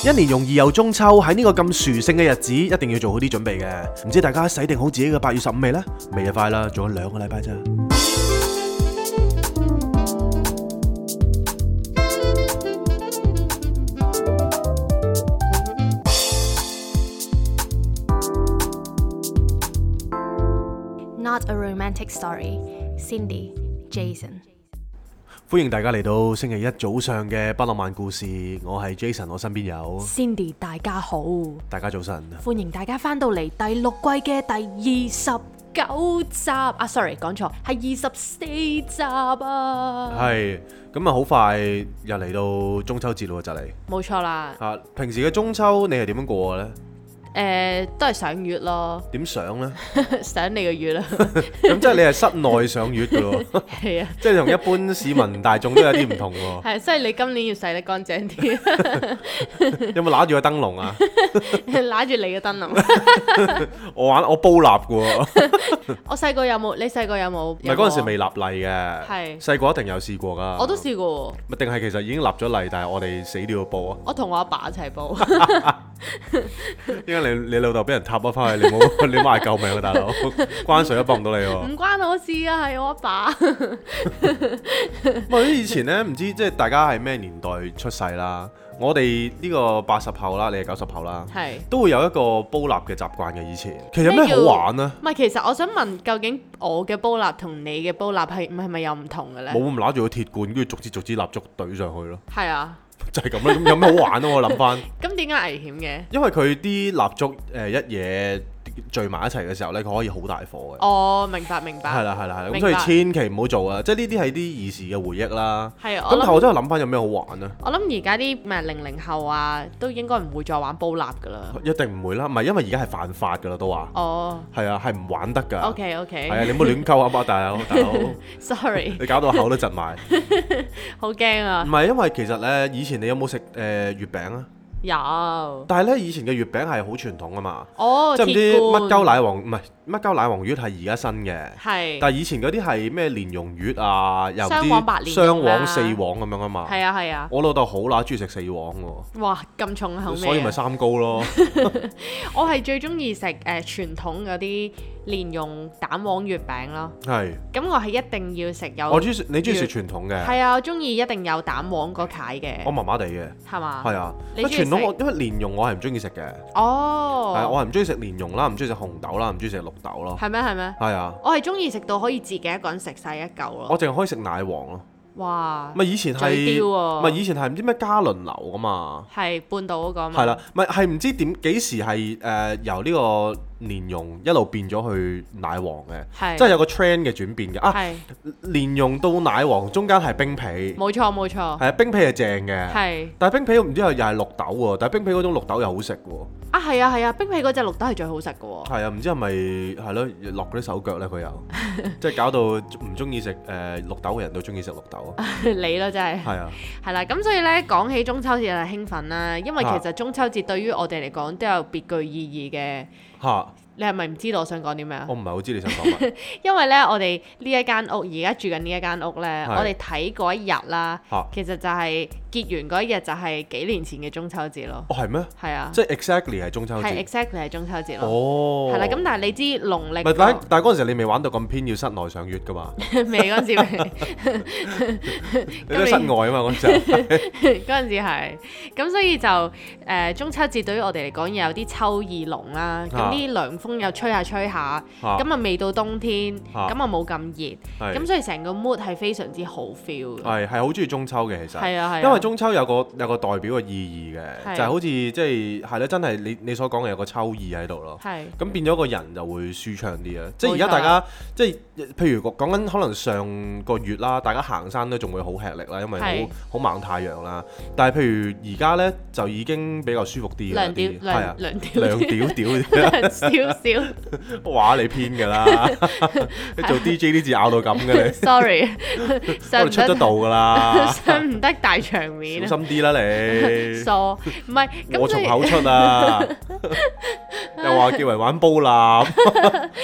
一年容易又中秋，喺呢個咁殊勝嘅日子，一定要做好啲準備嘅。唔知大家洗定好自己嘅8月15未呢？未就快啦，仲有2個禮拜咋。 Not a romantic story. Cindy, Jason。 歡迎大家嚟到星期一早上嘅不浪漫故事，我係 Jason， 我身邊有 Cindy， 大家好， 大家早晨，歡迎大家翻到嚟第6季嘅第29集啊 ，sorry 講錯，係24集啊， 係咁啊，好快又嚟到中秋節咯，就嚟， 冇錯啦。 啊，平時嘅中秋你係點樣過嘅呢？ 都係賞月咯。點賞呢？ 賞你個月啦。 咁即係你係室內賞月嘅喎。 係啊。即係同一般市民大眾都有啲唔同喎。 係，所以你今年要洗得乾淨啲。 有冇揦住個燈籠啊？ 揦住你嘅燈籠。 我煲蠟嘅喎。 我細個有冇？你細個有冇？ 唔係嗰陣時未立例嘅。 係。細個一定有試過㗎。 我都試過喎。 定係其實已經立咗例，但係我哋死都要煲啊？ 我同我阿爸一齊煲。 因為你老豆俾人塔咗翻去，你冇嗌救命啊，大佬！關水都幫唔到你喎。唔關我事啊，係我阿爸。 以前呢，唔知即係大家係咩年代出世啦。我哋呢個80後啦，你係90後啦，係都會有一個煲蠟嘅習慣嘅。以前其實有咩好玩呢？唔係， 其實我想問，究竟我嘅煲蠟同你嘅煲蠟係咪有唔同嘅咧？ 冇咁揦住個鐵罐，跟住逐支蠟燭懟上去咯。係啊。 就係咁啦，咁有咩好玩咯？我諗翻。 咁點解危險嘅？ 因為佢啲蠟燭一嘢聚埋一齊嘅時候咧，佢可以好大火嘅。 哦，明白。係啦。咁所以千祈唔好做啊！即係呢啲係啲兒時嘅回憶啦。係啊。咁但係我真係諗翻有咩好玩啊？我諗而家啲00後啊，都應該唔會再玩煲蠟噶啦。 一定唔會啦，唔係因為而家係犯法噶啦，都話。哦。係啊，係唔玩得㗎。 OK。 係啊，你唔好亂溝啊，大佬。 Sorry。 你搞到口都窒埋。 好驚啊！ 唔係因為其實咧，以前你有冇食月餅啊？ 有， 但係咧以前嘅月餅係好傳統啊嘛， 即係唔知乜鳩奶黃，唔係乜鳩奶黃月係而家新嘅， 係， 但係以前嗰啲係咩蓮蓉月啊，又雙黃白蓮蓉雙黃四黃咁樣啊嘛， 係啊， 我老豆好乸中意食四黃喎， 哇咁重口味， 所以咪三高咯。 我係最中意食傳統嗰啲蓮蓉蛋黃月餅咯，係，咁我係一定要食有， 你中意食傳統嘅， 係啊，我中意一定有蛋黃嗰塊嘅， 我麻麻地嘅， 係嘛， 係啊，傳統因為蓮蓉我係唔中意食嘅， 哦， 係我係唔中意食蓮蓉啦，唔中意食紅豆啦，唔中意食綠豆咯， 係咩？ 係啊， 我係中意食到可以自己一個人食晒一嚿咯， 我淨係可以食奶黃咯。哇！咪以前係以前係唔知咩嘉麟樓噶嘛？係半島嗰個嘛？ 係啦，咪係唔知幾時係由呢個蓮蓉一路變咗去奶黃嘅，即係有個 trend 嘅轉變嘅啊！蓮蓉到奶黃中間係冰皮，冇錯，係啊，冰皮係正嘅，但係冰皮唔知又係綠豆喎，但係冰皮嗰種綠豆又好食喎。 啊，係啊，冰皮嗰隻綠豆係最好食嘅喎。係啊，唔知係咪係咯落嗰啲手腳咧？佢又即係搞到唔中意食綠豆嘅人都中意食綠豆。 你咯，真係係啊，係啦，咁所以咧講起中秋節就興奮啦，因為其實中秋節對於我哋嚟講都有別具意義嘅嚇。你係咪唔知道我想講啲咩啊？ 我唔係好知你想講乜。因為咧，我哋呢一間屋而家住緊呢一間屋咧，我哋睇嗰一日啦，其實就係結緣嗰一日就係幾年前嘅中秋節咯。 哦，係咩？係啊，即係 exactly 係中秋節。係 exactly 係中秋節咯。哦。係啦，咁但係你知農曆但係嗰陣時你未玩到咁偏要室內賞月㗎嘛？ 未嗰陣時未。 你都室外啊嘛嗰陣時。 嗰陣時係，咁所以就中秋節對於我哋嚟講有啲秋意濃啦，咁啲涼風又吹下，咁啊未到冬天，咁啊冇咁熱，咁所以成個 mood 係非常之好 feel 嘅。係好中意中秋嘅其實，係啊，因為中秋有個代表嘅意義嘅，就係好似即係咧，真係你所講嘅有個秋意喺度咯。係咁變咗個人就會舒暢啲啊！即係而家大家即係譬如講緊可能上個月啦，大家行山都仲會好吃力啦，因為好猛太陽啦。但係譬如而家咧就已經比較舒服啲嘅啲，係啊，涼屌少，話你偏㗎啦！你做 DJ 呢字咬到咁嘅你，sorry， 我哋出得道㗎啦，上唔得大場面，小心啲啦你，傻唔係我從口出啊，又話叫人玩煲蠟，死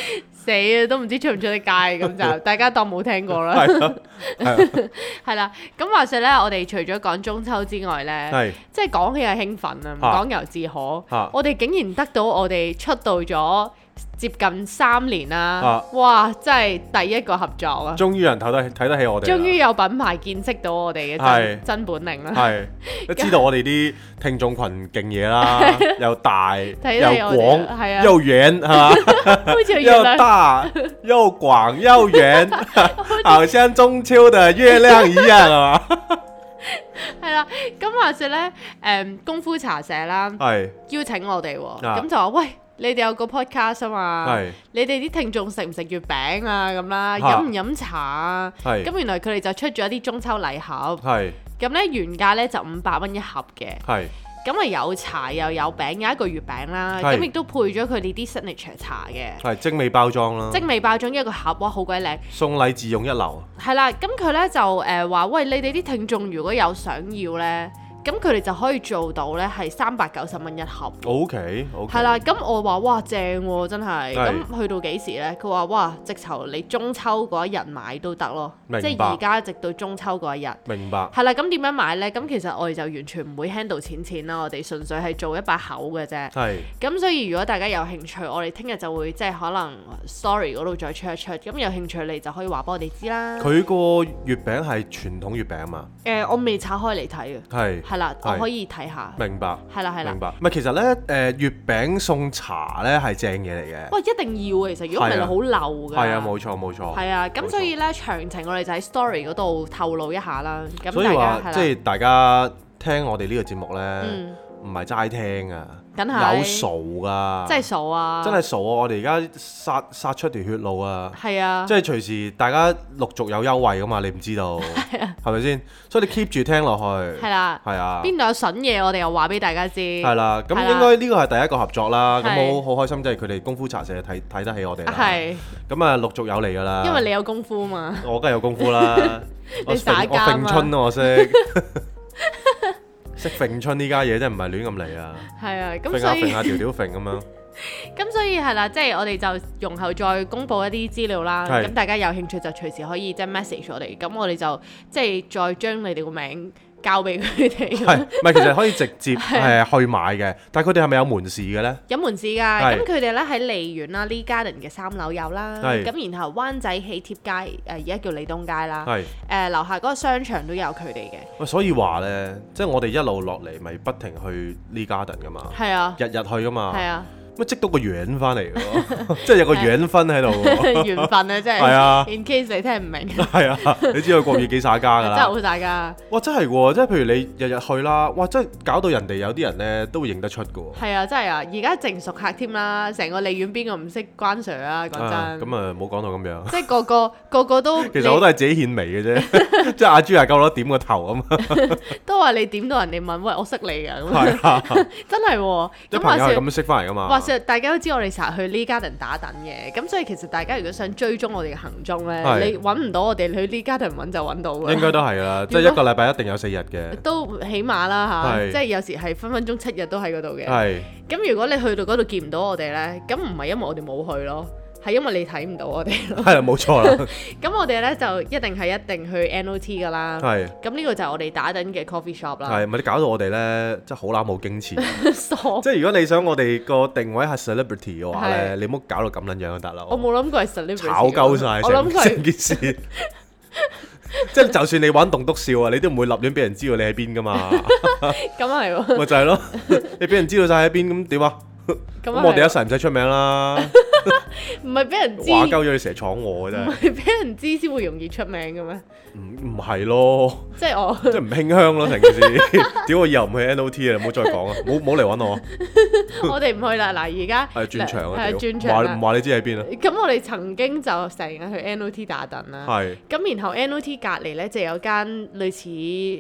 死啊，都唔知出唔出得街咁就大家當冇聽過啦。係啦，咁話說咧，我哋除咗講中秋之外咧，即係講起係興奮啊，唔講猶自可。我哋竟然得到我哋出道咗接近3年啦，哇！真係第一個合作啊！ 終於有人睇得起我哋， 終於有品牌見識到我哋嘅真本領啦。 係，都知道我哋啲聽眾群勁嘢啦，又大又廣又遠，係嘛？又大又廣又遠，好像中秋的月亮一樣啊！ 係啦，咁話說咧，功夫茶社啦，邀請我哋喎，咁就話喂。你哋有個 podcast 啊嘛，你哋啲聽眾食唔食月餅啊咁啦，飲唔飲茶啊？咁原來佢哋就出咗一啲中秋禮盒，咁咧原價咧就500蚊一盒嘅，咁啊有茶又有餅，有一個月餅啦，咁亦都配咗佢哋啲 signature 茶嘅， 精美包裝啦， 精美包裝一個盒，哇好鬼靚， 送禮自用一流。係啦，咁佢咧就話喂，你哋啲聽眾如果有想要咧。咁佢哋就可以做到咧，係390蚊一盒。OK。係啦，咁我話哇正喎，真係。咁去到幾時咧？佢話哇，直頭你中秋嗰一日買都得咯。明白。即係而家直到中秋嗰一日。明白。係啦，咁點樣買咧？咁其實我哋就完全唔會 handle 錢啦，我哋純粹係做一把口嘅啫。係。咁所以如果大家有興趣，我哋聽日就會即係可能 story 嗰度再出一出。咁有興趣你就可以話俾我哋知啦。佢個月餅係傳統月餅嘛？我未拆開嚟睇嘅。係。係啦，我可以睇下。明白。係啦，係啦。明白。唔係，其實咧，月餅送茶咧係正嘢嚟嘅。喂，一定要啊！其實如果唔係好漏㗎。係啊，冇錯冇錯。係啊，咁所以咧詳情我哋就喺 story 嗰度透露一下啦。咁所以話即係大家聽我哋呢個節目咧，唔係齋聽啊，有數㗎。真係數啊！真係數啊！我哋而家殺出條血路啊！係啊！即係隨時大家陸續有優惠㗎嘛，你唔知道係咪先？所以你 keep 住聽落去。係啦。係啊。邊度有筍嘢，我哋又話俾大家知。係啦。咁應該呢個係第一個合作啦。咁好開心，即係佢哋功夫茶社睇得起我哋啦。係。咁啊，陸續有嚟㗎啦。因為你有功夫嘛。我梗係有功夫啦。你耍家嘛？我詠春我識。識揈春呢家嘢真係唔係亂咁嚟啊！係啊，咁所以揈下條條揈咁樣。咁所以係啦，即係我哋就容後再公佈一啲資料啦。咁大家有興趣就隨時可以即係 message 我哋。咁我哋就即係再將你哋個名交俾佢哋。係，唔係其實可以直接去買嘅，但係佢哋係咪有門市嘅咧？有門市㗎，咁佢哋咧喺利園啦，Lee Garden 嘅3樓有啦。咁然後灣仔喜帖街而家叫利東街啦。樓下嗰個商場都有佢哋嘅。喂，所以話咧，即係我哋一路落嚟，咪不停去 Lee Garden 㗎嘛。係啊。日日去㗎嘛。係啊。乜積到個緣翻嚟喎，即係有個緣分喺度喎。緣分啊，真係。係啊。In case 你聽唔明。係啊，你知道國語幾耍家㗎啦。真係好耍家。哇！真係喎，即係譬如你日日去啦，哇！真係搞到人哋有啲人咧都會認得出㗎喎。係啊，真係啊！而家淨熟客添啦，成個利園邊個唔識關 Sir 啊？講真。咁啊，冇講到咁樣。即係個個都。其實我都係自己獻媚嘅啫，即係阿朱係夠攞點個頭啊嘛。都話你點到人哋問，喂，我識你㗎咁。係啊。真係喎。啲朋友係咁樣識翻嚟㗎嘛。大家都知我哋成日去 Lee Garden 打躉嘅，咁所以其實大家如果想追蹤我哋嘅行蹤咧，你揾唔到我哋去 Lee Garden 揾就揾到㗎。應該都係啦，即係一個禮拜一定有4日嘅。都起碼啦嚇，即係有時係分分鐘7日都喺嗰度嘅。係。咁如果你去到嗰度見唔到我哋咧，咁唔係因為我哋冇去咯。係因為你睇唔到我哋咯。係啊，冇錯啦。咁我哋咧就一定去 NOT 噶啦。係。咁呢個就係我哋打緊嘅 coffee shop 啦。係，咪你搞到我哋咧，真係好乸冇矜持。傻。即係如果你想我哋個定位係 celebrity 嘅話咧，你唔好搞到咁撚樣就得啦。我冇諗過係 celebrity。炒鳩曬成件事。即係就算你玩棟篤笑啊，你都唔會立亂俾人知道你喺邊噶嘛。咁係喎。咪就係咯，你俾人知道晒喺邊，咁點啊？咁我哋一世唔使出名啦。唔係俾人知，話鳩咗你成日闖我嘅啫。唔係俾人知先會容易出名嘅咩？唔係咯，即係我即係唔馨香咯，成件事。屌我以後唔去 NOT 啊，唔好再講啊，冇嚟揾我。我哋唔去啦，嗱而家係轉場啊，轉場唔話你知喺邊啊？咁我哋曾經就成日去 NOT 打躉啦。係。咁然後 NOT 隔離咧就有間類似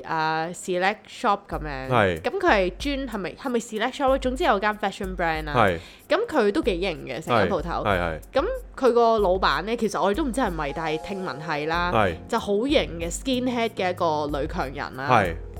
Select Shop 咁樣。係。咁佢係專係咪 Select Shop？總之有間 fashion brand 啦。係。咁佢都幾型嘅成間鋪頭。係。咁佢個老闆咧，其實我哋都唔知係咪，但係聽聞係啦。係。就好型嘅 skinhead 嘅一個女強人啦。係。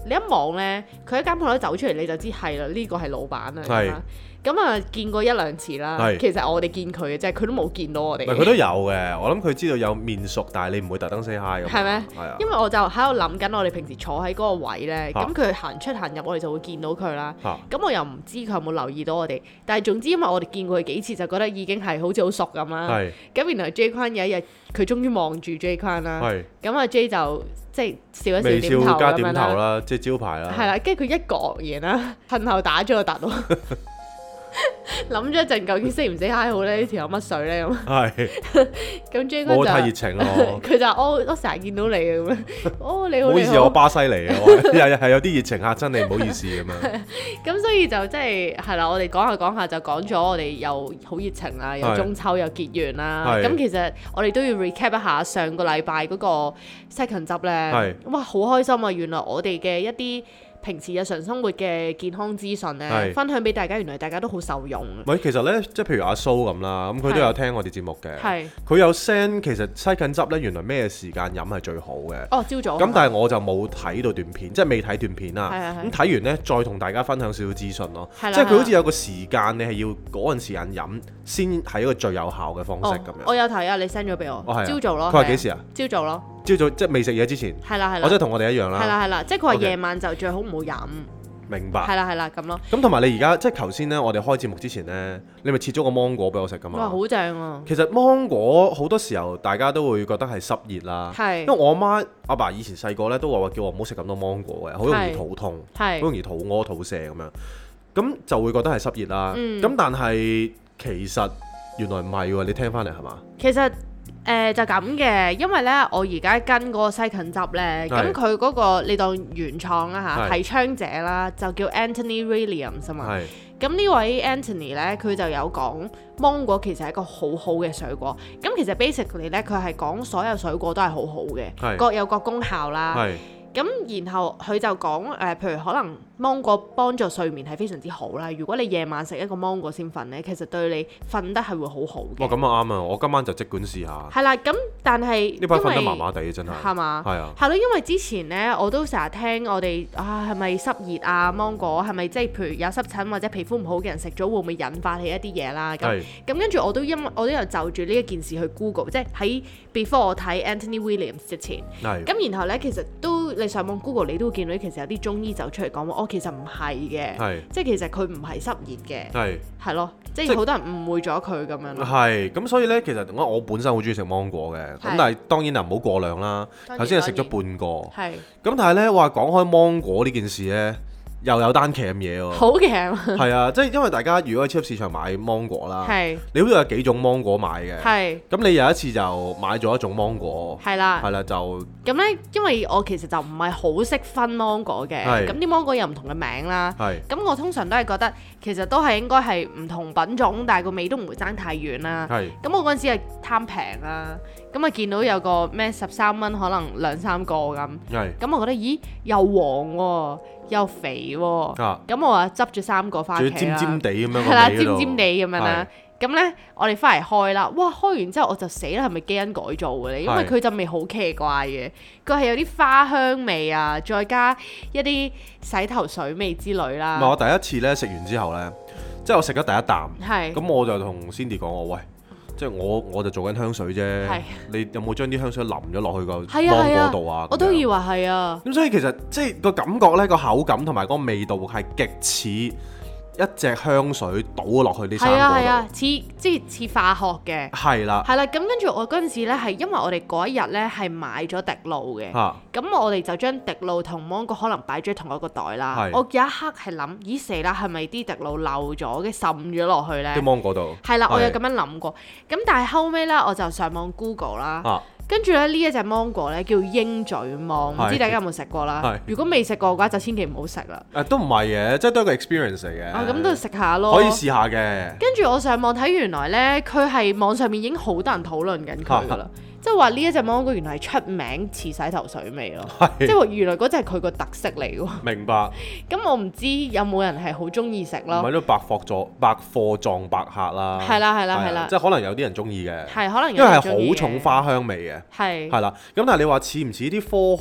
你一望咧，佢一間鋪頭走出嚟你就知係啦，呢個係老闆啊。咁啊，見過一兩次啦。其實我哋見佢嘅啫，佢都冇見到我哋。 佢都有嘅，我諗佢知道有面熟，但係你唔會特登 say hi 咁。係咩？係啊。因為我就喺度諗緊，我哋平時坐喺嗰個位咧，咁佢行出行入，我哋就會見到佢啦。咁我又唔知佢有冇留意到我哋，但係總之因為我哋見過佢幾次，就覺得已經係好似好熟咁啦。咁然後 J 坤有一日，佢終於望住 J 坤啦。咁阿 J 就即係笑一笑點頭咁樣啦。微笑加點頭啦，即係招牌啦。係啦，跟住佢一講完啦，恨後打咗個突咯。諗咗一陣，究竟 say 唔 say hi 好咧？呢條有乜水咧咁？係。咁 J 哥就太熱情咯。佢就我成日見到你嘅咁樣。你好。唔好意思，我巴西嚟嘅，係有啲熱情嚇親你，唔好意思咁樣。咁所以就即係啦，我哋講下講下就講咗，我哋又好熱情啦，又中秋又結緣啦。咁其實我哋都要 recap 一下上個禮拜嗰個西芹汁咧。哇，好開心啊！原來我哋嘅一啲平時日常生活嘅健康資訊咧，分享俾大家，原來大家都好受用。 其實咧，即係譬如阿蘇咁啦，咁佢都有聽我哋節目嘅。佢有 send 其實西芹汁咧，原來咩時間飲係最好嘅。哦，朝早。咁但係我就冇睇到段片，即係未睇段片啦。咁睇完咧，再同大家分享少少資訊咯。即係佢好似有個時間，你係要嗰陣時間飲先係一個最有效嘅方式咁樣。我有睇啊，你 send 咗俾我。朝早咯。佢話幾時啊？朝早咯。朝早即係未食嘢之前。係啦。我即係同我哋一樣啦。係啦，即係佢話夜晚就最好唔好飲。明白。係啦咁咯。咁同埋你而家即係頭先咧，我哋開節目之前咧，你咪切咗個芒果俾我食噶嘛？哇，好正啊！其實芒果好多時候大家都會覺得係濕熱啦。係。因為我阿爸以前細個咧都話叫我唔好食咁多芒果嘅，好容易肚痛，好容易肚屙、肚瀉咁樣。咁就會覺得係濕熱啦。咁但係其實原來唔係喎，你聽翻嚟係嘛？其實。就咁嘅，因為咧我而家跟嗰個西芹汁咧，咁佢嗰個你當原創啦嚇，提倡者啦，就叫 Anthony Williams 啊嘛。咁呢位 Anthony 咧，佢就有講芒果其實係一個好好嘅水果。咁其實 basically 咧，佢係講所有水果都係好好嘅，各有各功效啦。咁然後佢就講譬如可能芒果幫助睡眠係非常之好啦。如果你夜晚食一個芒果先瞓咧，其實對你瞓得係會好好嘅。哇，咁啊啱啊！我今晚就即管試下。係啦，咁但係呢排瞓得麻麻地真係。係嘛？係啊。係咯，因為之前咧我都成日聽我哋係咪濕熱啊？芒果係咪即係譬如有濕疹或者皮膚唔好嘅人食咗會唔會引發起一啲嘢啦？咁跟住我都有就住呢一件事去 Google， 即係喺 before 我睇 Anthony Williams 之前。咁然後咧其實都你上網 Google 你都會見到其實有啲中醫走出嚟講話，其實唔係嘅，即係其實佢唔係濕熱嘅，係咯，即係好多人誤會咗佢咁樣。係，咁所以咧，其實我本身好中意食芒果嘅，咁但係當然就唔好過量啦。頭先係食咗半個，咁但係咧話講開芒果呢件事咧，又有單騎咁嘢喎，好騎啊！係啊，即係因為大家如果喺超級市場買芒果啦，你好似有幾種芒果買嘅，咁你有一次就買咗一種芒果，係啦就咁咧，因為我其實就唔係好識分芒果嘅，咁啲芒果有唔同嘅名啦，咁我通常都係覺得其實都係應該係唔同品種，但係個味都唔會爭太遠啦。咁我嗰陣時係貪平啦，咁啊見到有個咩13蚊可能2-3個咁，咁我覺得咦又黃喎。又肥喎，咁我話執咗3個翻屋企啦，尖尖地咁樣，係啦，尖尖地咁樣啦。咁咧，我哋翻嚟開啦，哇！開完之後我就死啦，係咪基因改造嘅咧？因為佢陣味好奇怪嘅，佢係有啲花香味啊，再加一啲洗頭水味之類啦。唔係，我第一次咧食完之後咧，即係我食咗第一啖，咁我就同 Cindy 講我喂。即係我就做緊香水啫，你有冇將啲香水淋咗落去個芒果度啊？我都以為係啊。咁所以其實即係個感覺咧，個口感同埋個味道係極似一隻香水倒落去啲生果度。係啊，即係似化學嘅。係啦。係啦，咁跟住我嗰陣時咧，係因為我哋嗰一日咧係買咗滴露嘅。咁我哋就將滴露同芒果可能擺咗喺同一個袋啦。我有一刻係諗，咦死啦，係咪啲滴露漏咗嘅滲咗落去咧？啲芒果度。係啦，我有咁樣諗過。咁但係後尾咧，我就上網 Google 啦。跟住咧呢一隻芒果咧叫鷹嘴芒，唔知大家有冇食過啦？如果未食過嘅話，就千祈唔好食啦。都唔係嘅，即係都係一個 experience 嚟嘅。咁都食下咯。可以試下嘅。跟住我上網睇，原來咧佢係網上面已經好多人討論緊佢噶啦。即係話呢一隻芒果原來係出名似洗頭水味咯，即係話原來嗰隻係佢個特色嚟喎。明白。咁我唔知有冇人係好中意食咯。咪都百貨撞百客啦。係啦。即係可能有啲人中意嘅。係可能有人中意嘅。因為係好重花香味嘅。係啦。咁但係你話似唔似啲科學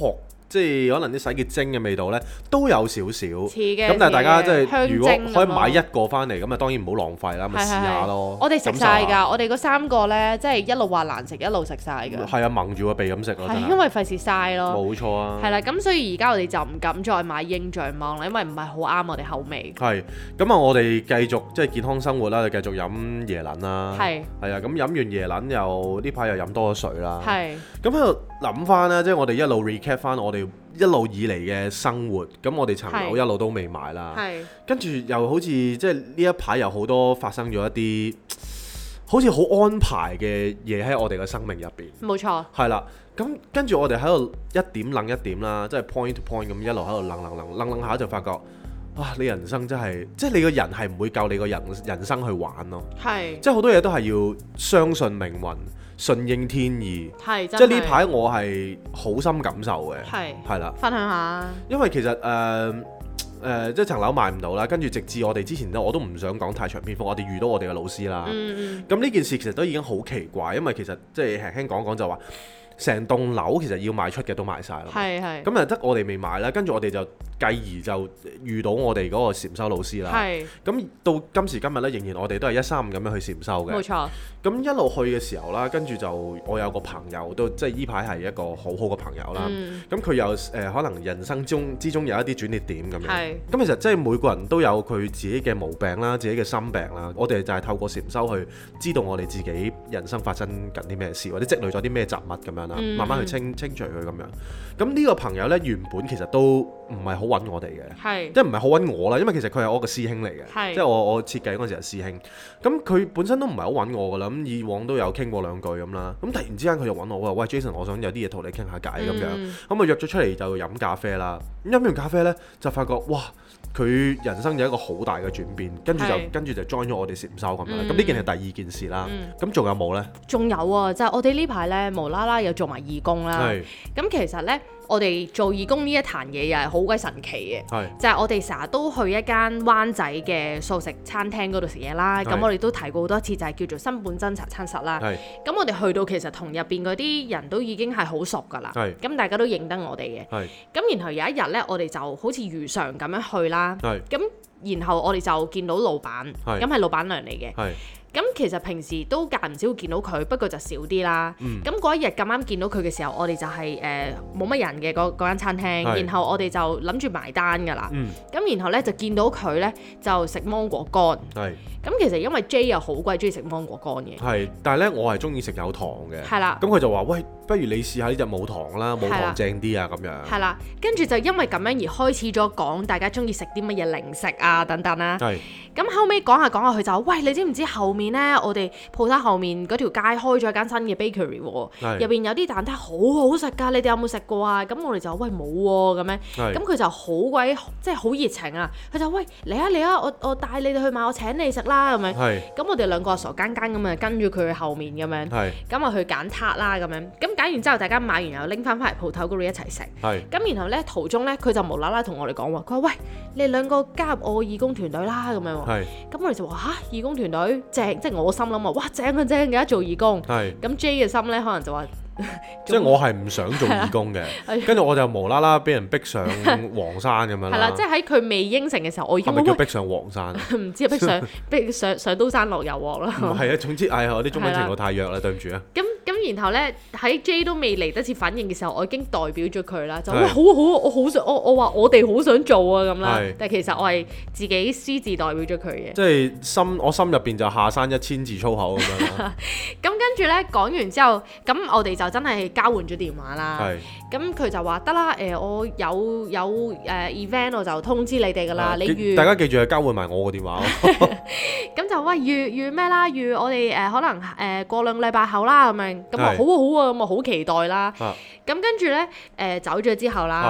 即係可能啲洗潔精嘅味道咧，都有少少。似嘅。 咁但係大家即係如果可以香買一個翻嚟，咁啊當然唔好浪費啦，咪試下咯。 我哋食晒㗎，我哋嗰3個咧，即係一路話難食，一路食晒㗎。 係啊，蒙住個鼻咁食咯。 係因為費事嘥咯。 冇錯啊。 係啦，咁所以而家我哋就唔敢再買鷹象芒啦，因為唔係好啱我哋口味。 係。咁啊，我哋繼續即係健康生活啦，繼續飲椰撚啦。係啊，咁飲完椰撚又呢排又飲多咗水啦。係。咁喺度諗翻啦，即係我哋一路 recap 翻我哋一路以嚟嘅生活，咁我哋層樓一路都未買啦。係。跟住又好似即係呢一排有好多發生咗一啲好似好安排嘅嘢喺我哋嘅生命入邊。冇錯。係啦，咁跟住我哋喺度一點諗一點啦，即係 point to point 咁一路喺度諗下就發覺，哇！你人生真係，即係你個人係唔會夠你個人生去玩咯。係。即係好多嘢都係要相信命運。順應天意，即係呢排我係好深感受嘅，係啦，分享下。因為其實即係層樓買唔到啦，跟住直至我哋之前我都唔想講太長篇幅，我哋遇到我哋嘅老師啦。咁呢件事其實都已經好奇怪，因為其實即係輕輕講就話，成棟樓其實要賣出嘅都賣晒啦。咁就得我哋未買啦，跟住我哋就繼而就遇到我哋嗰個禪修老師啦。咁到今時今日咧，仍然我哋都係135咁樣去禪修嘅。冇錯。咁一路去嘅時候啦，跟住就我有個朋友都即係呢排係一個好好嘅朋友啦。咁佢又可能人生之中有一啲轉捩點咁樣。咁其實即係每個人都有佢自己嘅毛病啦，自己嘅心病啦。我哋就係透過禪修去知道我哋自己人生發生緊啲咩事，或者積累咗啲咩雜物咁樣啦，慢慢去清除佢咁樣。咁呢個朋友咧，原本其實都唔係好揾我哋嘅，即係唔係好揾我啦，因為其實佢係我個師兄嚟嘅，即係我設計嗰陣時係師兄。咁佢本身都唔係好揾我噶啦，咁以往都有傾過2句咁啦。咁突然之間佢就揾我，話喂 Jason，我想有啲嘢同你傾下偈咁樣。咁啊約咗出嚟就飲咖啡啦。咁飲完咖啡咧，就發覺哇，佢人生有一個好大嘅轉變，跟住就 join 咗我哋禪修咁樣。咁呢件係第二件事啦。咁仲有冇咧？仲有啊，就係我哋呢排咧無啦啦又做埋義工啦。咁其實咧，我哋做義工呢一壇嘢又係好鬼神奇嘅，就係我哋成日都去一間灣仔嘅素食餐廳嗰度食嘢啦。咁我哋都提過好多次，就係叫做新本真茶餐室啦。咁我哋去到其實同入邊嗰啲人都已經係好熟㗎啦。咁大家都認得我哋嘅。咁然後有一日咧，我哋就好似如常咁樣去啦。咁然後我哋就見到老闆，咁係老闆娘嚟嘅。咁其實平時都間唔少會見到佢，不過就少啲啦。咁嗰一日咁啱見到佢嘅時候，我哋就係冇乜人嘅嗰間餐廳，然後我哋就諗住埋單㗎啦。咁然後咧就見到佢咧就食芒果乾。咁其實因為 J 又好鬼中意食芒果乾嘅。但係咧我係中意食有糖嘅。咁佢就話：喂，不如你試下呢隻冇糖啦，冇糖正啲啊咁樣。跟住就因為咁樣而開始咗講大家中意食啲乜嘢零食啊等等啦。咁後尾講下佢就話：喂，你知唔知後面咧，我哋鋪頭後面嗰條街開咗間新嘅 bakery 喎，入邊有啲蛋撻好好食㗎，你哋有冇食過啊？咁我哋就喂冇喎咁樣，咁佢就好鬼即係好熱情啊！佢就喂嚟啊，我帶你哋去買，我請你食啦咁樣。咁我哋兩個傻更更咁啊跟住佢去後面咁樣，咁啊去揀撻啦咁樣。咁揀完之後，大家買完又拎翻嚟鋪頭嗰度一齊食。咁然後咧途中咧，佢就無啦啦同我哋講話，佢話喂，你哋兩個加入我義工團隊啦咁樣。咁我哋就話嚇，義工團隊正，即係我心諗話哇正啊正嘅，做義工。咁 J 嘅心咧可能就話， 即係我係唔想做義工嘅，跟住我就無啦啦俾人逼上黃山咁樣啦。係啦，即係喺佢未應承嘅時候，我已經係咪叫逼上黃山？唔知逼上刀山落油鑊啦。係啊，總之我啲中文程度太弱啦，對唔住啊。咁然後咧喺 J 都未嚟得切反應嘅時候，我已經代表咗佢啦，就喂好我好想我話我哋好想做啊咁啦。但係其實我係自己私自代表咗佢嘅。即係我心入邊就下山1000字粗口咁樣。咁跟住咧講完之後，咁我哋就真係交換咗電話啦。咁佢就話得啦，我有event 我就通知你哋㗎啦。大家記住係交換埋我個電話。咁就喂預咩啦？預我哋可能過2個禮拜後啦咁樣。咁啊好啊，咁啊好期待啦。咁跟住咧走咗之後啦，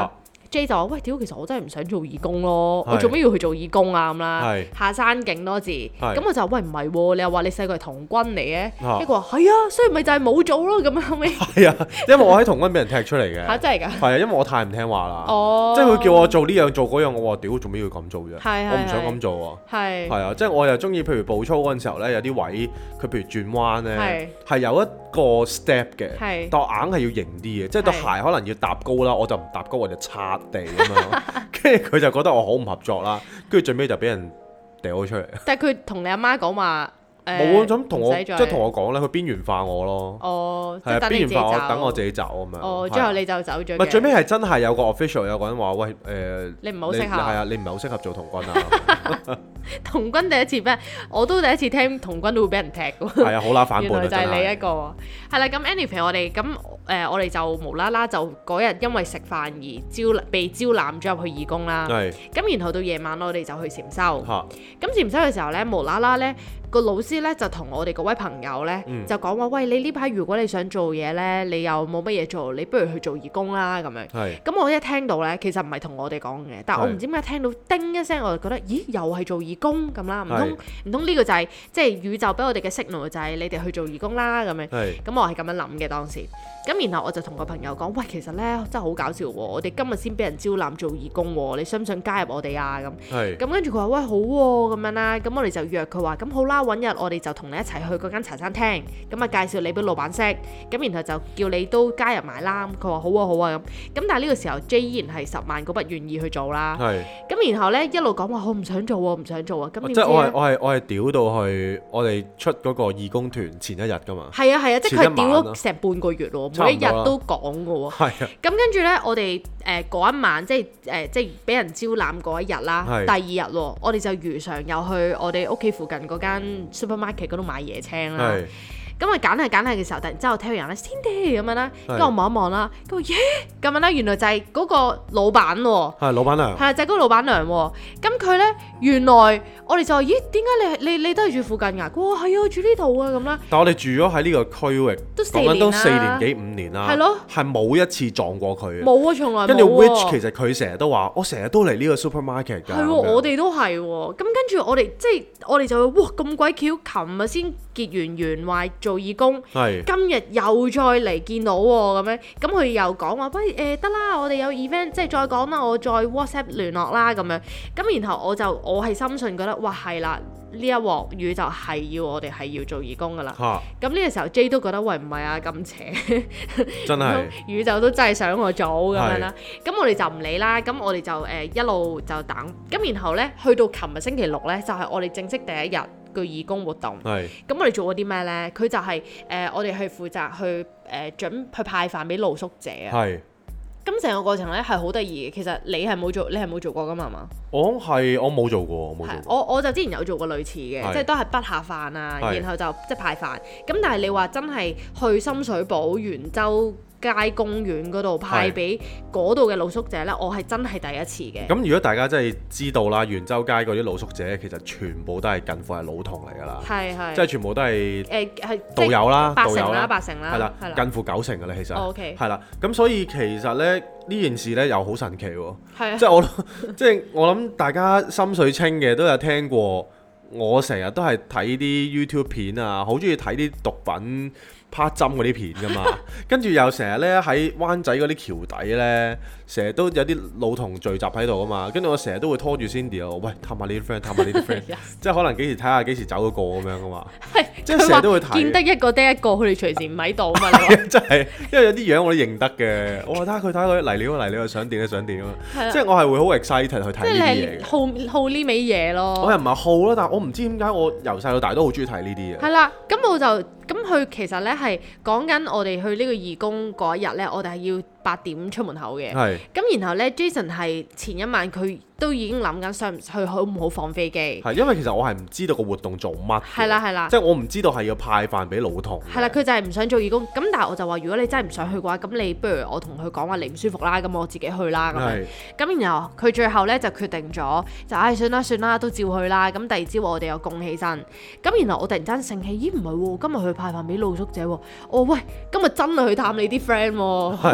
J 就話：喂，屌，其實我真係唔想做義工咯，我做咩要去做義工啊咁啦？下山勁多字，咁我就喂唔係喎，你又話你細個係童軍嚟嘅，一個話係啊，所以咪就係冇做咯咁樣後尾。係啊， 因為我喺童軍俾人踢出嚟嘅。嚇真係㗎？ 係啊，因為我太唔聽話啦。即係佢叫我做呢樣做嗰樣，我話屌做咩要咁做啫？我唔想咁做喎。係啊，即係我又中意，譬如步操嗰陣時候咧，有啲位佢譬如轉彎咧，係有一個 step 嘅，但我硬係要型啲嘅，即係對鞋可能要搭高啦，我就唔搭高，我就擦地咁樣。跟住佢就覺得我好唔合作啦，跟住最尾就俾人掉咗出嚟。但係佢同你阿媽講話。冇咁同我，即係同我講咧，佢邊緣化我咯。哦，係啊，邊緣化我，等我自己走咁樣。哦，最後你就走咗。唔係最尾係真係有個 official 有個人話：喂，你唔係好適合。係啊，你唔係好適合做童軍啊。童軍第一次咩？我都第一次聽童軍都會俾人踢㗎。係啊，好啦，反叛啊！原來就係你一個。係啦，咁 anyway 我哋咁我哋就無啦啦就嗰日因為食飯而被招攬咗入去義工啦。係。咁然後到夜晚我哋就去禪修。嚇。咁禪修嘅時候咧，無啦啦咧。個老師咧就同我哋嗰位朋友咧就講話：喂，你呢排如果你想做嘢咧，你又冇乜嘢做，你不如去做義工啦咁樣。咁我一聽到咧，其實唔係同我哋講嘅，但係我唔知點解聽到叮一聲，我就覺得，咦，又係做義工咁啦？唔通呢個就係即係宇宙俾我哋嘅 signal，就係你哋去做義工啦咁樣。咁我係咁樣諗嘅當時。咁然後我就同個朋友講：喂，其實咧真係好搞笑喎！我哋今日先俾人招攬做義工喎，你想唔想加入我哋啊？咁跟住佢話：喂，好喎咁樣啦。咁我哋就約佢話：咁好啦。揾日我哋就同你一齊去嗰間茶餐廳，咁啊介紹你俾老闆識，咁然後就叫你都加入埋啦。佢話好啊好啊咁，但係呢個時候 J 依然係10萬個不願意去做啦。咁然後咧一路講話我唔想做喎，唔想做啊。咁即係我係屌到去我哋出嗰個義工團前一日㗎嘛。係啊，即係佢屌咗成半個月喎，每一日都講㗎喎。咁跟住咧，我哋嗰一晚即係俾人招攬嗰一日啦，第二日喎，我哋就如常又去我哋屋企附近嗰間supermarket 嗰度買椰青啦，咁啊揀下嘅時候，突然之間我聽到人咧 Cindy 咁樣啦，跟住我望一望啦，佢話耶咁樣啦，原來就係嗰個老闆喎，係老闆娘，係啊，就係嗰個老闆娘喎。咁佢咧原來我哋就話咦，點解你都係住附近㗎？佢話係啊，住呢度啊咁啦。但係我哋住咗喺呢個區域都4年幾5年啦，係咯，係冇一次撞過佢嘅，冇啊，從來冇。跟住 which 其實佢成日都話，我成日都嚟呢個 supermarket 㗎，係喎，我哋都係喎。咁跟住我哋即係我哋就會哇咁鬼巧，琴日先結完緣話做義工，今日又再嚟見到喎咁樣，咁佢又講話不如得啦，我哋有 event 即係再講啦，我再 WhatsApp 聯絡啦咁樣，咁然後我係深信覺得哇係啦，呢一鑊宇宙係要我哋係要做義工噶啦，咁呢個時候 J 都覺得喂唔係啊咁邪，真係宇宙都真係想我做咁樣啦，咁我哋就唔理啦，咁我哋就一路就等，咁然後咧去到琴日星期六咧就係我哋正式第一日個義工活動，咁我哋做過啲咩咧？佢就係我哋係負責去去派飯俾露宿者啊。咁成個過程咧係好得意嘅。其實你係冇做過噶嘛？係嘛？我冇做過，我就之前有做過類似嘅，即係都係筆下飯啊，然後就即係派飯。咁但係你話真係去深水埗元州街公園嗰度派俾嗰度嘅露宿者呢，我係真係第一次嘅。咁如果大家真係知道啦，元州街嗰啲露宿者其實全部都係近乎係老童嚟㗎啦，即係全部都係係導遊啦，八成啦，係啦，近乎90成㗎啦，其實係啦。咁所以其實呢件事呢又好神奇喎，即係我諗大家心水清嘅都有聽過。我成日都係睇啲 YouTube 片啊，好中意睇啲毒品趴針嗰啲片㗎嘛，跟住又成日咧喺灣仔嗰啲橋底咧，成日都有啲老童聚集喺度啊嘛，跟住我成日都會拖住 Cindy 啊，喂，探下呢啲 friend， 探下呢啲 friend， 即係可能幾時睇下幾時走嗰個咁樣㗎嘛，即係成日都會睇。見得一個得一個，佢哋隨時唔喺度啊嘛。真係，因為有啲樣我都認得嘅，我話睇下佢嚟料想點啊，即係我係會好 excited 去睇呢啲嘢。好呢味嘢咯。我又唔係好咯，但係我唔知點解我由細到大都好中意睇呢啲嘢。係啦，咁佢其實咧係講緊我哋去呢個義工嗰一日咧，我哋係要8點出門口嘅。咁然後咧 Jason 係前一晚佢都已經諗緊上去好唔好放飛機。係因為其實我係唔知道個活動做乜。係啦，即係我唔知道係要派飯俾老童。係啦，佢就係唔想做義工。咁但係我就話，如果你真係唔想去嘅話，咁你不如我同佢講話你唔舒服啦，咁我自己去啦咁樣。咁然後佢最後咧就決定咗，就算啦，都照去啦。咁第二朝我哋又供起身。咁然後我突然間醒起，咦唔係喎，今日去派飯俾露宿者喎。我喂，今日真係去探你啲 friend 喎。講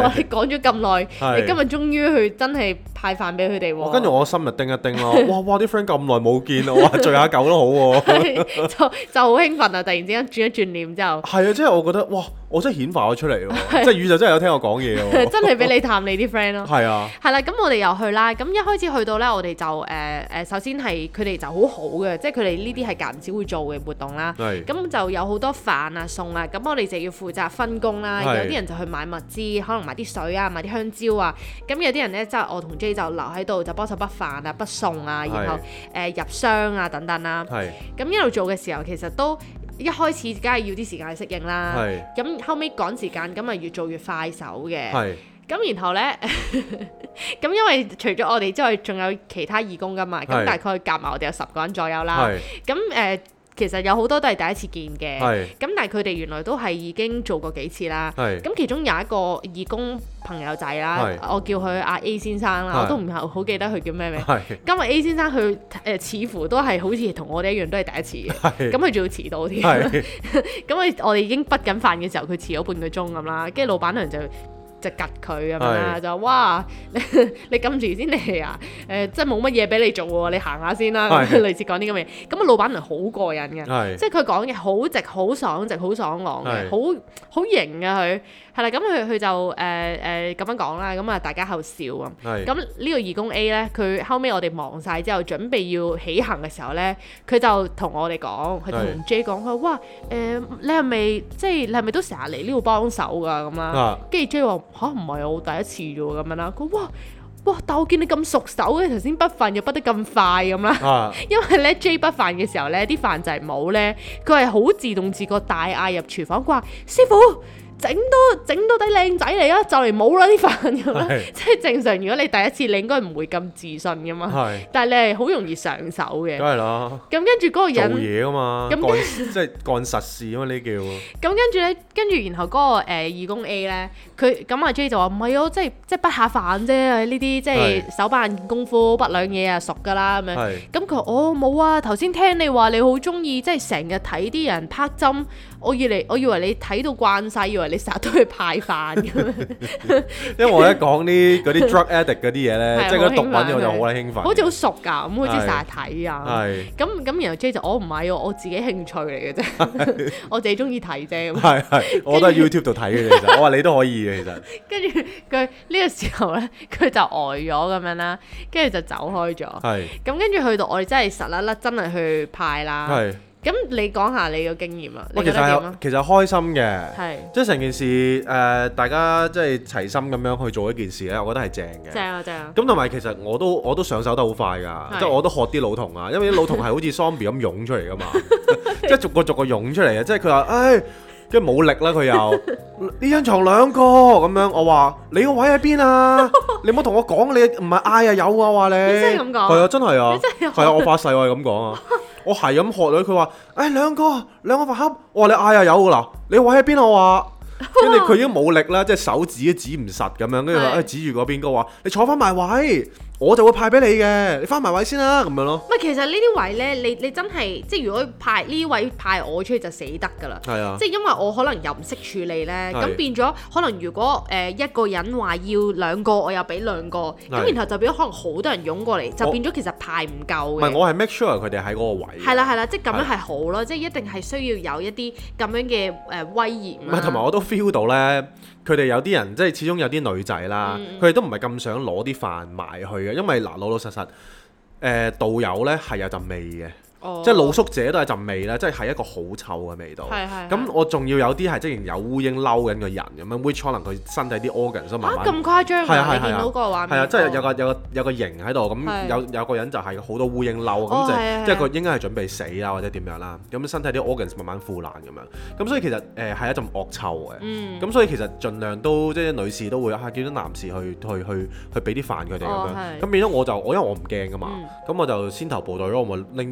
講咗咁耐，你今日終於去真係派飯俾佢哋喎。 跟住我心就叮一叮咯，哇！啲 friend 咁耐冇見，我話聚下舊都好喎。 就好興奮啊！突然之間轉一轉念之後， 係啊，即係我覺得哇，我真係顯化咗出嚟喎，即係宇宙真係有聽我講嘢喎， 真係俾你探你啲 friend 咯。係啊， 係啦，咁我哋又去啦。咁一開始去到咧，我哋就首先係佢哋就好好嘅，即係佢哋呢啲係間唔時會做嘅活動啦。咁就有好多飯啊餸啊，咁我哋就要負責分工啦。有啲人就去買物資，可能買啲水啊，買啲香蕉啊。咁有啲人咧，即係我同 J 就留喺度就幫手畢飯啊、畢餸啊，然後入箱啊等等啦。咁一路做嘅時候，其實都一開始梗係要啲時間去適應啦。咁後尾趕時間，咁咪越做越快手嘅。咁然後呢，咁因為除咗我哋之外，仲有其他義工噶嘛，咁大概夾埋我哋有10個人左右啦。咁其實有好多都係第一次見嘅，咁但係佢哋原來都係已經做過幾次啦。咁其中有一個義工朋友仔啦，我叫佢阿 A 先生啦，我都唔係好記得佢叫咩名。今日 A 先生佢似乎都係好似同我哋一樣都係第一次嘅，咁佢仲要遲到添。咁我哋已經畢緊飯嘅時候，佢遲咗半個鐘咁啦，跟住老闆娘就吉佢咁樣啦，就哇你咁遲先嚟啊！即係冇乜嘢俾你做喎，你行下先啦。類似講啲咁嘅嘢，咁啊老闆娘好過癮嘅，即係佢講嘢好直、好爽直、好爽朗嘅，好型啊佢。係啦，咁佢就咁樣講啦，咁啊大家喺度笑啊。咁呢個義工 A 咧，佢後尾我哋忙晒之後，準備要起行嘅時候咧，佢就同我哋講，佢同 J 講，佢話哇你係咪都成日嚟呢度幫手㗎咁啦？跟住 J 話吓，唔係我第一次啫喎咁樣啦。佢哇！但我見你咁熟手嘅，頭先畢飯又畢得咁快咁啦。因為咧 J 畢飯嘅時候咧，啲飯就係冇咧，佢係好自動自覺大嗌入廚房，佢話師傅，整到底靚仔嚟啊！就嚟冇啦啲飯咁啦，即係正常。如果你第一次，你應該唔會咁自信噶嘛。但係你係好容易上手嘅。梗係啦。咁跟住嗰個人做嘢噶嘛，即係幹實事啊嘛呢叫。咁跟住然後嗰個義工 A 咧，佢咁阿 J 就話唔係啊，即係畢下飯啫，呢啲即係手板功夫，畢兩嘢啊熟噶啦咁樣。咁佢話冇啊，頭先聽你話你好中意，即係成日睇啲人拍針。我以為你睇到慣晒，以為你成日都去派飯咁樣。 因為我一講啲嗰啲 drug addict 嗰啲嘢咧，即係嗰啲毒品我就好鬼興奮。好似好熟㗎，咁好似成日睇啊。咁然後 J 就我唔係喎，我自己興趣嚟嘅啫，我自己中意睇啫。我都喺 YouTube 度睇嘅其實。我話你都可以嘅其實。跟住佢呢個時候咧，佢就呆咗咁樣啦，跟住就走開咗。咁跟住去到我哋真係實粒粒真係去派啦。咁你講下你個經驗啊？你覺得點啊？ 其實開心嘅，即係成件事大家即係齊心咁樣去做一件事咧，我覺得係正嘅。正啊！咁同埋其實我都上手得好快㗎，即係我都學啲老同啊，因為啲老同係好似 zombie 咁湧出嚟㗎嘛，即係逐個湧出嚟啊！即係佢話跟住冇力啦，佢又呢張床2個咁樣，我話你個位喺邊啊？你唔好同我講，你唔係嗌啊有啊話你。你真係咁講？係啊，真係啊，係啊，我發誓我係咁講啊。我係咁學佢，佢話2個飯盒，我話你嗌啊有㗎啦，你個位喺邊啊？我話，跟住佢已經冇力啦，即係手指都指唔實咁樣，跟住話指住嗰邊，佢話你坐翻埋位。我就會派俾你嘅，你翻埋位先啦，咁樣咯。唔係，其實呢啲位咧，你真係即係如果派呢位派我出去就死得㗎啦。係啊，即係因為我可能又唔識處理咧，咁變咗可能如果一個人話要2個，我又俾2個，咁然後就變咗可能好多人湧過嚟，就變咗其實派唔夠嘅。唔係，我係 make sure 佢哋喺嗰個位。係啦，即係咁樣係好咯，即係一定係需要有一啲咁樣嘅威嚴。唔係，同埋我都 feel 到咧。佢哋有啲人即係始終有啲女仔啦，佢哋都唔係咁想攞啲飯埋去嘅，因為嗱老實實，導遊咧係有陣味嘅。即係露宿者都係陣味啦，即係一個好臭嘅味道。咁我仲要有啲係即係有烏蠅嬲緊個人咁樣，which 可能佢身體啲 organ 都慢慢。咁誇張啊！你見到個畫面？係啊，即係有個形喺度，咁有個人就係好多烏蠅嬲，咁即係佢應該係準備死啦或者點樣啦，咁身體啲 organs 慢慢腐爛咁樣。咁所以其實係一陣惡臭嘅。咁所以其實盡量都即係女士都會叫啲男士去俾啲飯佢哋咁樣。咁變咗因為我唔驚㗎嘛，咁我就先頭部隊咯，我咪拎啲飯俾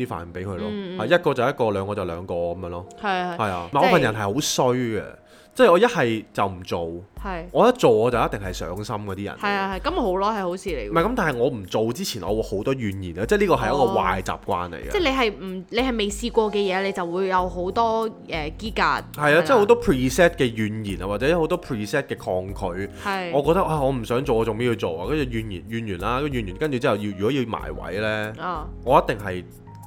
俾佢咯，一個就一個，兩個就兩個咁樣咯。係啊，我份人係好衰嘅。即係我一係就唔做，我一做我就一定係上心嗰啲人。 係咁好咯，係好事嚟。 唔係咁，但係我唔做之前，我會好多怨言啊！即係呢個係一個壞習慣嚟嘅。 即係你係未試過嘅嘢，你就會有好多機格。係啊，即係好多 preset 嘅怨言啊，或者好多 preset 嘅抗拒。我覺得我唔想做，我做咩要做啊？跟住怨完啦，跟住之後如果要埋位咧，我一定係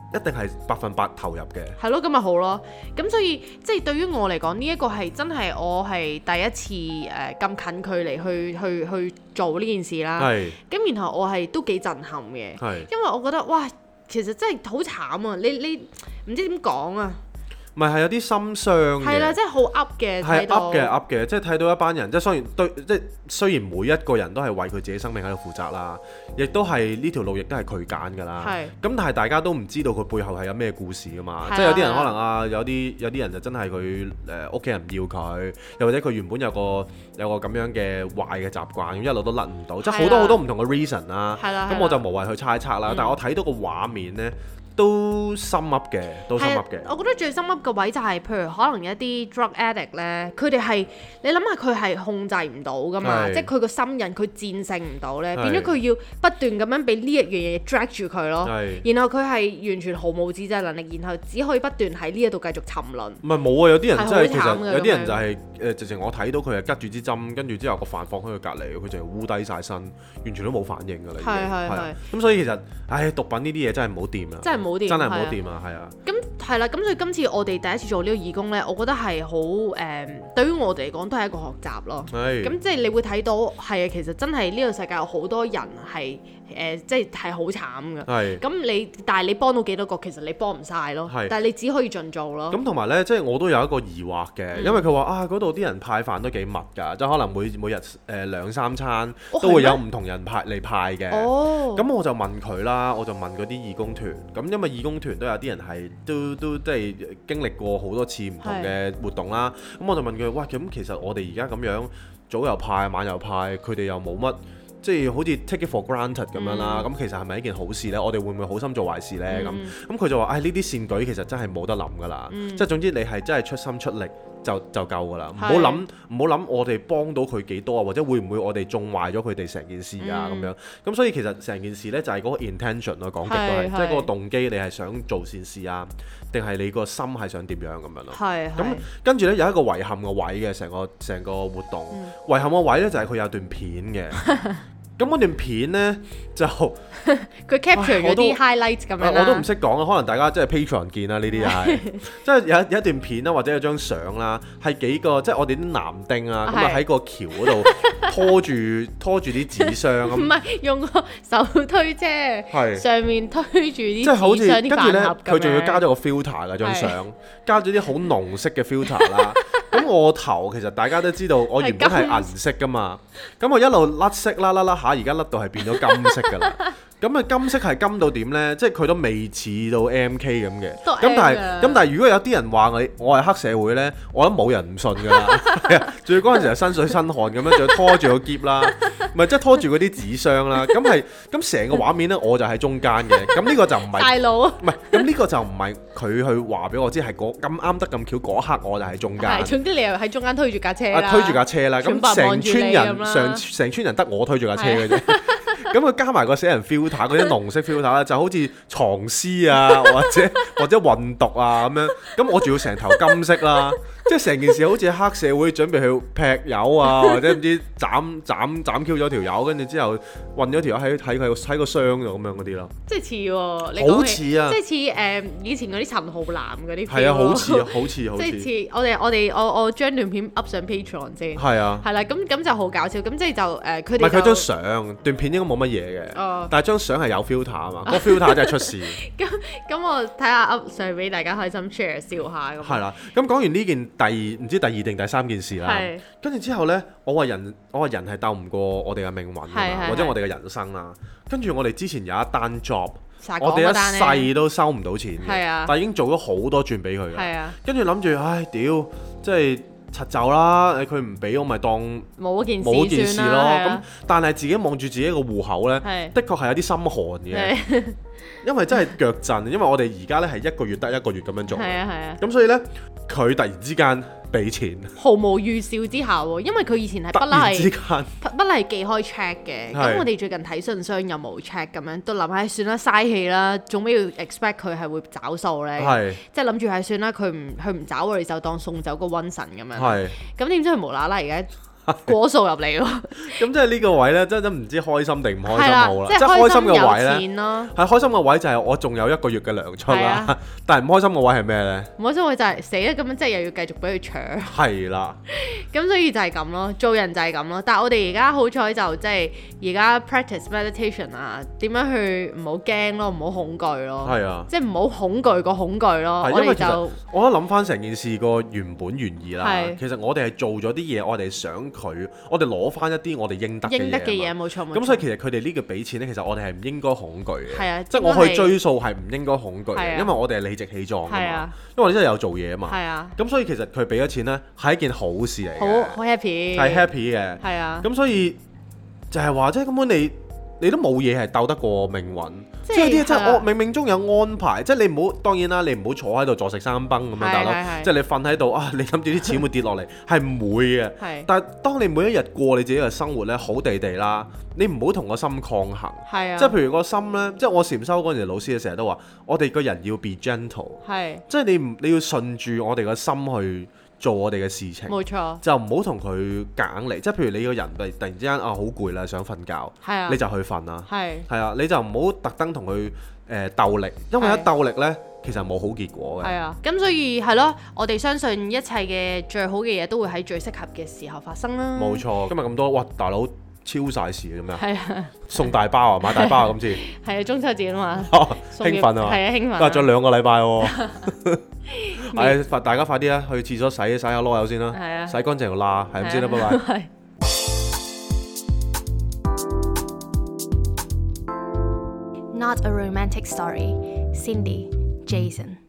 100%投入嘅。係咯， 咁咪好咯。咁所以即係對於我嚟講，呢一個係真係我係第一次咁近距離去做呢件事啦。咁然後我係都幾震撼嘅，因為我覺得哇，其實真係好慘啊！你唔知點講啊。 咪係有啲心傷嘅， 係啦，即係好噏嘅， 係噏嘅，即係睇到一班人，即係雖然每一個人都係為佢自己生命喺度負責啦，亦都係呢條路亦都係佢揀㗎啦。咁但係大家都唔知道佢背後係有咩故事㗎嘛。即係有啲人可能有啲人就真係佢屋企人唔要佢，又或者佢原本有個咁樣嘅壞嘅習慣，一路都甩唔到，即係好多唔同嘅 reason 啦。咁我就無謂去猜測啦。但係我睇到個畫面呢，都心噏嘅。我覺得最心噏嘅位就係，譬如可能一啲 drug addict 咧，佢哋係你諗下佢係控制唔到噶嘛，即係佢個心癮佢戰勝唔到咧，變咗佢要不斷咁樣俾呢一樣嘢 drag 住佢咯，然後佢係完全毫無自制能力，然後只可以不斷喺呢一度繼續沉淪。唔係冇啊，有啲人真係其實有啲人就係直情我睇到佢係拮住支針，跟住之後個飯放喺佢隔離，佢就係烏低晒身，完全都冇反應㗎啦。係咁所以其實毒品呢啲嘢真係唔好掂啊！真係唔好掂啊！係啊。咁係啦，咁所以今次我哋第一次做呢個義工呢，我覺得係好對於我哋嚟講都係一個學習咯。咁即係你會睇到係啊，其實真係呢個世界有好多人係即係好慘㗎。咁但係你幫到幾多個，其實你幫唔晒咯。但係你只可以盡做咯。咁同埋呢，即係我都有一個疑惑嘅，因為佢話嗰度啲人派飯都幾密㗎，即係可能每日2-3餐都會有唔同人嚟派嘅。咁我就問佢啦，我就問嗰啲義工團，咁因為義工團都有啲人係都即係經歷過好多次唔同嘅活動啦。咁我就問佢，哇，咁其實我哋而家咁樣早又派晚又派，佢哋又冇乜。即係好似 take it for granted 咁樣啦，咁其實係咪一件好事呢？我哋會唔會好心做壞事呢？咁佢就話：呢啲善舉其實真係冇得諗㗎啦，即係總之你係真係出心出力就夠㗎啦，唔好諗我哋幫到佢幾多啊，或者會唔會我哋縱壞咗佢哋成件事啊咁樣。咁所以其實成件事呢，就係嗰個 intention 咯，講極都係，即係嗰個動機，你係想做善事啊，定係你個心係想點樣咁樣咯。咁跟住呢，有一個遺憾嘅位嘅成個活動，遺憾嘅位呢，就係佢有段片嘅。咁嗰段片呢，就佢 capture 咗啲 highlights 咁樣啦。我都唔識講啊，可能大家即係 Patreon 見啦，呢啲係即係有一段片啦，或者有張相啦，係幾個即係我哋啲男丁啊，咁啊喺個橋嗰度拖住啲紙箱咁。唔係用個手推車，上面推住啲紙箱啲飯盒咁樣。跟住呢，佢仲要加咗個 filter 㗎張相，加咗啲好濃色嘅 filter 啦。咁我頭其實大家都知道，我原本係銀色㗎嘛，咁我一路甩色啦，而家甩到係變咗金色㗎啦。咁啊金色係金到點呢？即係佢都未似到 MK 咁嘅。咁但係如果有啲人話我係黑社會呢，我諗冇人唔信㗎啦。仲要嗰陣時係身水身汗咁樣，仲要拖住個篋啦，唔係即係拖住嗰啲紙箱啦。咁成個畫面呢，我就喺中間嘅。咁呢個就唔係大佬，唔係咁呢個就唔係佢去話俾我知係咁啱得咁巧嗰刻我就喺中間。總之你又喺中間推住架車啦。推住架車啦。咁成村人得我推住架車嘅啫。咁佢加埋個死人 filter 嗰啲濃色 filter 咧，就好似藏屍啊，或者運毒啊咁樣。咁我仲要成頭金色啦，即係成件事好似黑社會準備去劈友啊，或者唔知斬 Q 咗條友，跟住之後運咗條友喺個箱度咁樣嗰啲咯。即係似喎，好似啊，即係似以前嗰啲陳浩南嗰啲。係啊，好似。即係似我將段片 up 上 Patreon 先。係啊。係啦，咁就好搞笑。咁即係就佢哋。唔係佢張相，段片應該冇乜嘢嘅，但係張相係有 filter 啊嘛，個 filter 真係出事。咁我睇下 up 上俾大家開心 share 笑下咁。係啦，咁講完呢件唔知第2定第3件事啦，跟住之後呢，我話人係鬥唔過我哋嘅命運或者我哋嘅人生啦。跟住我哋之前有一單 job，我哋一世都收唔到錢嘅，但係已經做咗好多轉俾佢嘅。跟住諗住，唉屌，即係柒走啦，佢唔俾我咪當冇件事咯。 咁但係自己望住自己個戶口呢，的確係有啲心寒嘅，因為真係腳震，因為我哋而家呢係一個月得一個月咁樣做，咁所以呢，佢突然之間俾錢， 毫無預兆之下喎，因為佢以前係不嬲係寄開 check 嘅，咁我哋最近睇信箱又冇 check 咁樣，都諗下算啦，嘥氣啦，做咩要 expect 佢係會找數呢？即係諗住係算啦，佢唔找我哋就當送走個瘟神咁樣，咁點知佢無啦啦而家過數入嚟喎， 咁即係呢個位咧，真唔知開心定唔開心好啦。即係開心嘅位咧，係開心嘅位就係我仲有一個月嘅糧出啦。但係唔開心嘅位係咩咧？唔開心嘅位就係死啦，咁樣即係又要繼續俾佢搶。係啦，咁所以就係咁咯，做人就係咁咯。但係我哋而家好彩就即係而家 practice meditation 啊，點樣去唔好驚咯，唔好恐懼咯。係啊，即係唔好恐懼個恐懼咯。我哋就我諗翻成件事個原本原意啦。其實我哋係做咗啲嘢，我哋想。我哋攞翻一啲我哋應得嘅嘢，冇錯。咁所以其實佢哋呢個俾錢咧，其實我哋係唔應該恐懼嘅。係啊，即係我去追數係唔應該恐懼嘅，因為我哋係理直氣壯㗎嘛。因為我哋真係有做嘢啊嘛。係啊。咁所以其實佢俾咗錢咧係一件好事嚟嘅。好 happy。係 happy 嘅。係啊。咁所以就係話，即係根本你都冇嘢係鬥得過命運。即係有啲嘢真係我冥冥中有安排，即係你唔好，當然啦，你唔好坐喺度坐食山崩咁樣大佬，即係你瞓喺度啊，你諗住啲錢會跌落嚟，係唔會嘅。但係當你每一日過你自己嘅生活咧，好地地啦，你唔好同個心抗衡。即係譬如個心咧，即係我禪修嗰陣時，老師成日都話，我哋個人要 be gentle。即係你要順住我哋個心去做我哋嘅事情，冇錯，就唔好同佢夾硬嚟。即係譬如你個人突然之間好攰啦，想瞓覺，你就去瞓啦。係啊，你就唔好特登同佢鬥力，因為一鬥力呢，其實冇好結果嘅。係啊，咁所以係咯，我哋相信一切嘅最好嘅嘢都會喺最適合嘅時候發生啦。冇錯，今日咁多，哇，大佬超晒時咁樣。係啊，送大包啊，買大包啊，今次。係啊，中秋節啊嘛。興奮啊！係啊，興奮。隔咗2個禮拜喎。係，大家快啲啦，去廁所洗下囉柚先啦，洗乾淨個罅，係咁先啦，拜拜。Not a romantic story. Cindy, Jason.